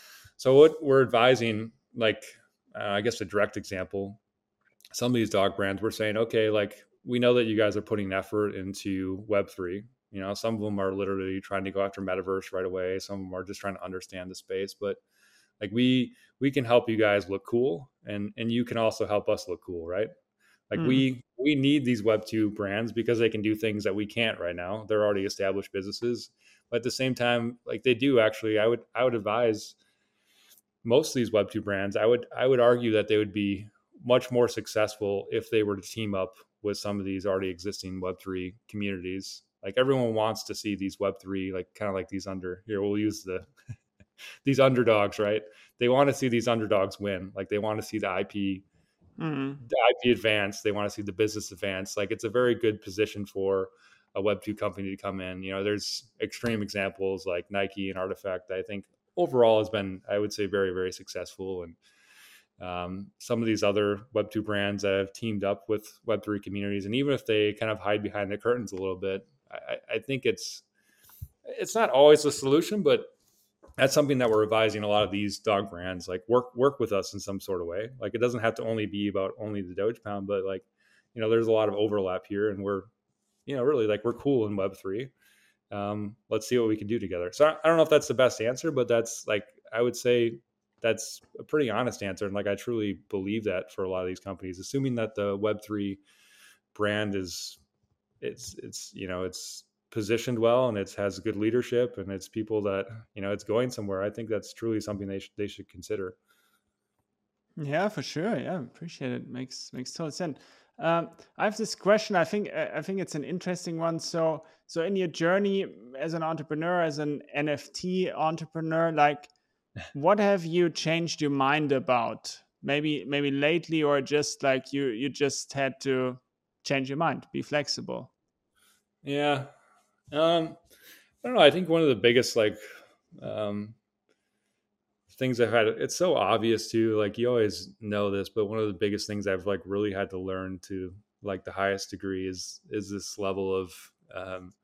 Speaker 2: So what we're advising, like, uh, I guess a direct example, some of these dog brands, we're saying, okay, like, we know that you guys are putting effort into Web three. You know, some of them are literally trying to go after metaverse right away. Some of them are just trying to understand the space, but like, we we can help you guys look cool, and and you can also help us look cool, right? Like,
Speaker 1: Mm.
Speaker 2: we we need these Web two brands because they can do things that we can't right now. They're already established businesses, but at the same time, like, they do actually, I would I would advise most of these Web two brands, I would I would argue that they would be much more successful if they were to team up with some of these already existing Web three communities. Like, everyone wants to see these Web three, like, kind of like these under here. We'll use the these underdogs, right? They want to see these underdogs win. Like, they want to see the I P,
Speaker 1: Mm.
Speaker 2: the I P advance. They want to see the business advance. Like, it's a very good position for a Web two company to come in. You know, there's extreme examples like Nike and Artifact that I think overall has been, I would say, very, very successful. And um, some of these other Web two brands that have teamed up with Web three communities, and even if they kind of hide behind the curtains a little bit, I, I think it's it's not always the solution, but that's something that we're advising a lot of these dog brands, like, work work with us in some sort of way. Like, it doesn't have to only be about only the Doge Pound, but, like, you know, there's a lot of overlap here, and we're, you know, really, like, we're cool in Web three. Um, let's see what we can do together. So I don't know if that's the best answer, but that's, like, I would say that's a pretty honest answer. And, like, I truly believe that for a lot of these companies, assuming that the Web three brand is, it's, it's, you know, it's positioned well, and it has good leadership, and it's people that, you know, it's going somewhere. I think that's truly something they, sh- they should consider.
Speaker 1: Yeah, for sure. Yeah, appreciate it. Makes makes total sense. Um, I have this question. I think I I think it's an interesting one. So so in your journey as an entrepreneur, as an N F T entrepreneur, like, what have you changed your mind about? Maybe maybe lately, or just like you you just had to change your mind, be flexible.
Speaker 2: Yeah. Um, I don't know. I think one of the biggest, like, um, things I've had, it's so obvious too, like, you always know this, but one of the biggest things I've, like, really had to learn to, like, the highest degree is, is this level of, um,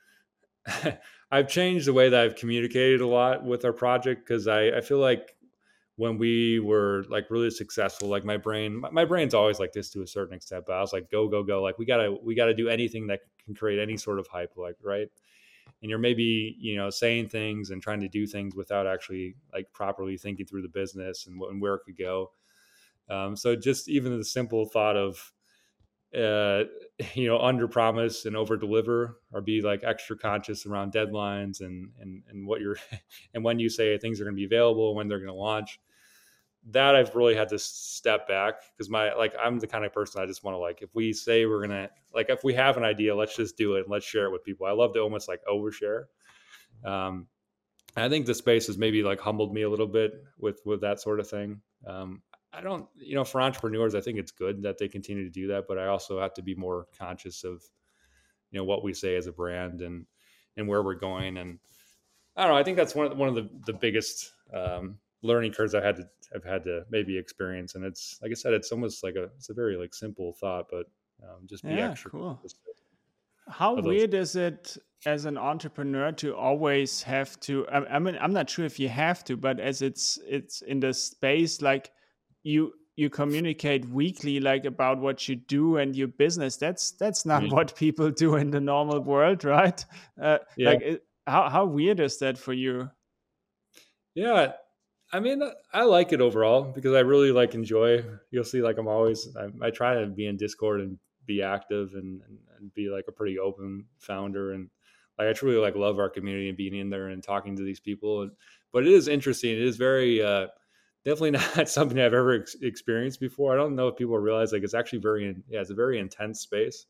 Speaker 2: I've changed the way that I've communicated a lot with our project. Cause I, I feel like when we were, like, really successful, like, my brain, my, my brain's always like this to a certain extent, but I was like, go, go, go. Like, we gotta, we gotta do anything that can create any sort of hype, like, right. And you're maybe, you know, saying things and trying to do things without actually, like, properly thinking through the business and, what, and where it could go. Um, so just even the simple thought of, uh, you know, under promise and over deliver, or be, like, extra conscious around deadlines, and, and, and what you're, and when you say things are going to be available, when they're going to launch, that I've really had to step back. Cause my, like, I'm the kind of person, I just want to, like, if we say we're going to, like, if we have an idea, let's just do it and let's share it with people. I love to almost, like, overshare. Um, I think the space has maybe, like, humbled me a little bit with, with that sort of thing. Um, I don't, you know, for entrepreneurs, I think it's good that they continue to do that, but I also have to be more conscious of, you know, what we say as a brand, and, and where we're going. And I don't know, I think that's one of the, one of the, the biggest, um, learning curves I've had to, I've had to maybe experience. And it's, like I said, it's almost like a, it's a very, like, simple thought, but, um, just be
Speaker 1: Yeah,
Speaker 2: extra
Speaker 1: cool.
Speaker 2: conscious
Speaker 1: How
Speaker 2: of those.
Speaker 1: weird is it as an entrepreneur to always have to? I, I mean, I'm not sure if you have to, but as it's it's in the space, like, you you communicate weekly, like, about what you do and your business. That's that's not
Speaker 2: Yeah.
Speaker 1: what people do in the normal world, right? Uh,
Speaker 2: Yeah.
Speaker 1: like, it, how how weird is that for you?
Speaker 2: Yeah. I mean, I like it overall because I really, like, enjoy, you'll see, like, I'm always, I, I try to be in Discord and be active, and, and, and be, like, a pretty open founder. And, like, I truly, like, love our community and being in there and talking to these people. And, but it is interesting. It is very, uh, definitely not something I've ever ex- experienced before. I don't know if people realize, like, it's actually very, yeah, it's a very intense space.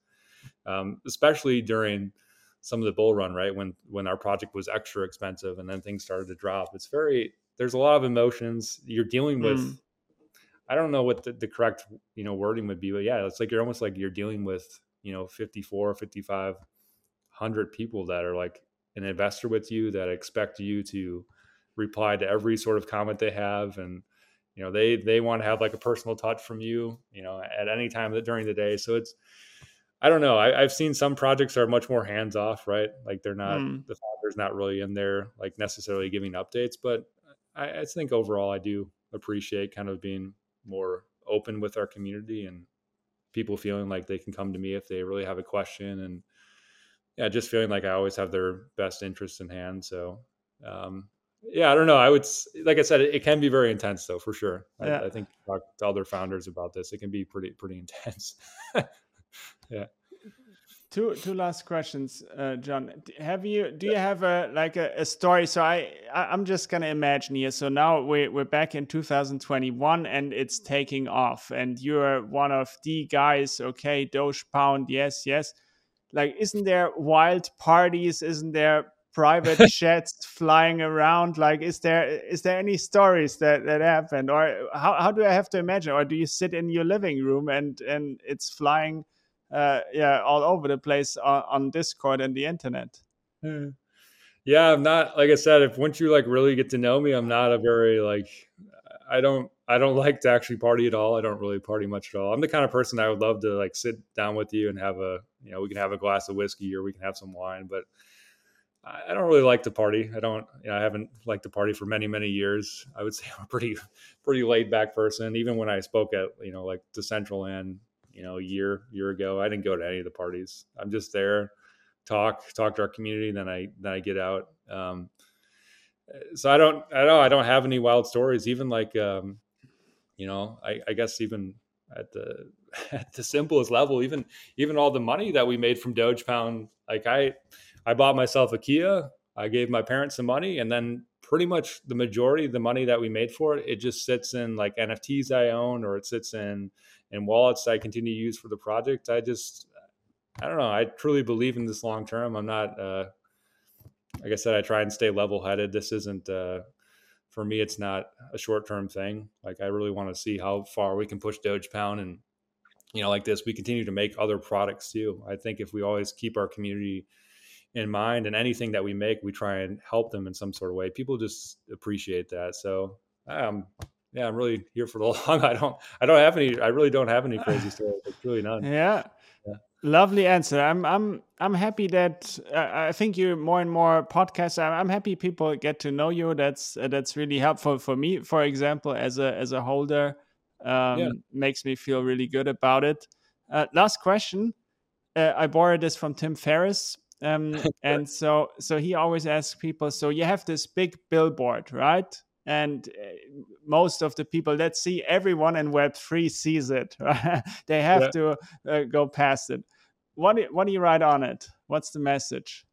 Speaker 2: um, especially during some of the bull run, right? When, when our project was extra expensive and then things started to drop. It's very, there's a lot of emotions you're dealing with.
Speaker 1: Mm.
Speaker 2: I don't know what the, the correct, you know, wording would be, but yeah, it's like, you're almost like you're dealing with, you know, fifty-four, fifty-five hundred people that are like an investor with you, that expect you to reply to every sort of comment they have. And, you know, they, they want to have like a personal touch from you, you know, at any time that during the day. So it's, I don't know. I, I've seen some projects are much more hands off, right? Like they're not,
Speaker 1: Mm.
Speaker 2: the founder's not really in there, like necessarily giving updates, but I, I think overall I do appreciate kind of being more open with our community and people feeling like they can come to me if they really have a question. And yeah, just feeling like I always have their best interest in hand. So, um, yeah, I don't know. I would, like I said, it, it can be very intense though, for sure. I,
Speaker 1: Yeah.
Speaker 2: I think talk to other founders about this. It can be pretty, pretty intense. Yeah.
Speaker 1: Two two last questions, uh, John. D- Have you do you have a like a, a story? So I, I I'm just gonna imagine here. So now we we're back in two thousand twenty-one and it's taking off, and you're one of the guys. Okay, Doge Pound, yes, yes. Like, isn't there wild parties? Isn't there private jets flying around? Like, is there is there any stories that that happened, or how how do I have to imagine? Or do you sit in your living room and and it's flying? Uh, yeah, all over the place on, on Discord and the internet.
Speaker 2: Hmm. Yeah, I'm not, like I said, if once you like really get to know me, I'm not a very like, I don't I don't like to actually party at all. I don't really party much at all. I'm the kind of person I would love to like sit down with you and have a, you know, we can have a glass of whiskey or we can have some wine, but I I don't really like to party. I don't, you know, I haven't liked to party for many, many years. I would say I'm a pretty, pretty laid back person. Even when I spoke at, you know, like the Decentraland, you know, a year, year ago, I didn't go to any of the parties. I'm just there, talk, talk to our community. Then I, then I get out. Um, so I don't, I don't, I don't have any wild stories. Even like, um, you know, I, I guess even at the, at the simplest level, even, even all the money that we made from Doge Pound, like I, I bought myself a Kia. I gave my parents some money, and then pretty much the majority of the money that we made for it, it just sits in like N F Ts I own, or it sits in in wallets I continue to use for the project. I just, I don't know. I truly believe in this long term. I'm not, uh, like I said, I try and stay level headed. This isn't, uh, for me, it's not a short term thing. Like I really want to see how far we can push Doge Pound, and you know, like this, we continue to make other products too. I think if we always keep our community in mind, and anything that we make, we try and help them in some sort of way, people just appreciate that. So um yeah, I'm really here for the long. I don't I don't have any I really don't have any crazy stories. Like really none.
Speaker 1: Yeah,
Speaker 2: Yeah.
Speaker 1: lovely answer. I'm I'm I'm happy that uh, I think you more and more podcasts. I'm, I'm happy people get to know you. That's uh, that's really helpful for me. For example, as a as a holder,
Speaker 2: Yeah.
Speaker 1: um, makes me feel really good about it. Uh, last question. Uh, I borrowed this from Tim Ferriss. Um, and so, so he always asks people, so you have this big billboard, right? And uh, most of the people that see everyone in Web three sees it, right? They have
Speaker 2: Yeah.
Speaker 1: to uh, go past it. What do, what do you write on it? What's the message?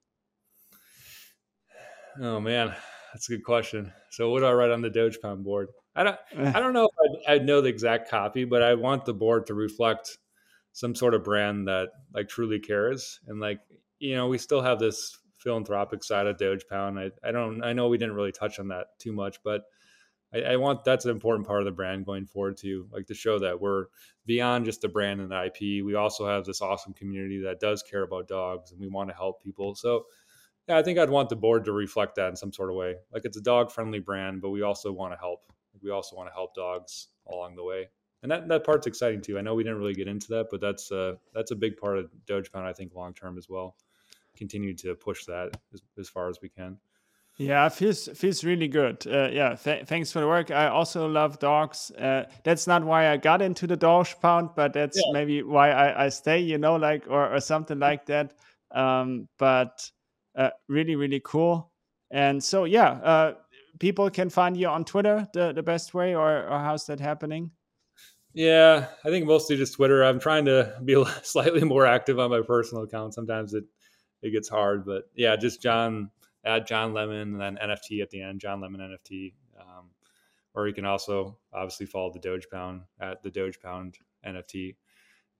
Speaker 2: Oh man, that's a good question. So what do I write on the Doge Pound board? I don't I don't know if I'd, I'd know the exact copy, but I want the board to reflect some sort of brand that like truly cares. And like, you know, we still have this philanthropic side of Doge Pound. I, I don't, I know we didn't really touch on that too much, but I, I want, that's an important part of the brand going forward too, like to show that we're beyond just the brand and the I P. We also have this awesome community that does care about dogs, and we want to help people. So yeah, I think I'd want the board to reflect that in some sort of way. Like it's a dog friendly brand, but we also want to help. We also want to help dogs along the way. And that, that part's exciting too. I know we didn't really get into that, but that's uh that's a big part of Doge Pound, I think, long term as well. Continue to push that as, as far as we can.
Speaker 1: Yeah, feels feels really good. Uh, yeah, th- thanks for the work. I also love dogs. Uh, that's not why I got into the Doge Pound, but that's
Speaker 2: Yeah.
Speaker 1: maybe why I, I stay. You know, like or, or something like that. Um, but uh, really, really cool. And so, yeah, uh, people can find you on Twitter the, the best way, or, or how's that happening?
Speaker 2: Yeah, I think mostly just Twitter. I'm trying to be slightly more active on my personal account. Sometimes it it gets hard, but yeah, just John at John Lemon and then N F T at the end, John Lemon N F T. Um, or you can also obviously follow the Doge Pound at the Doge Pound N F T.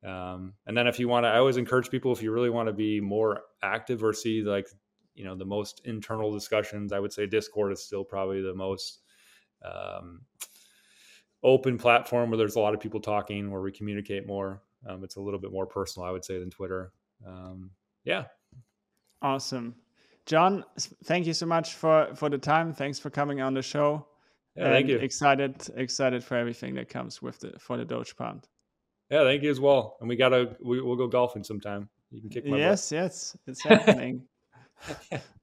Speaker 2: Um, and then if you want to, I always encourage people, if you really want to be more active or see like, you know, the most internal discussions, I would say Discord is still probably the most um, open platform where there's a lot of people talking, where we communicate more. Um, it's a little bit more personal, I would say, than Twitter. Um, yeah.
Speaker 1: Awesome. John, thank you so much for, for the time. Thanks for coming on the show.
Speaker 2: Yeah,
Speaker 1: and
Speaker 2: thank you.
Speaker 1: Excited, excited for everything that comes with the for the Doge Pound.
Speaker 2: Yeah, thank you as well. And we gotta we, we'll go golfing sometime. You can kick my
Speaker 1: yes,
Speaker 2: butt.
Speaker 1: Yes, it's happening.